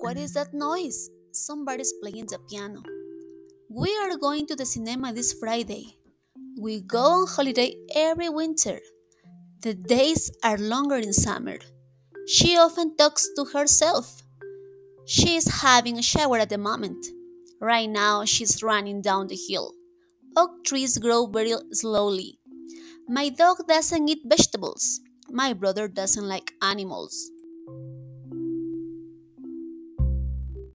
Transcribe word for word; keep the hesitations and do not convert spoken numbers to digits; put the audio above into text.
What is that noise? Somebody's playing the piano. We are going to the cinema this Friday. We go on holiday every winter. The days are longer in summer. She often talks to herself. She is having a shower at the moment. Right now, she's running down the hill. Oak trees grow very slowly. My dog doesn't eat vegetables. My brother doesn't like animals.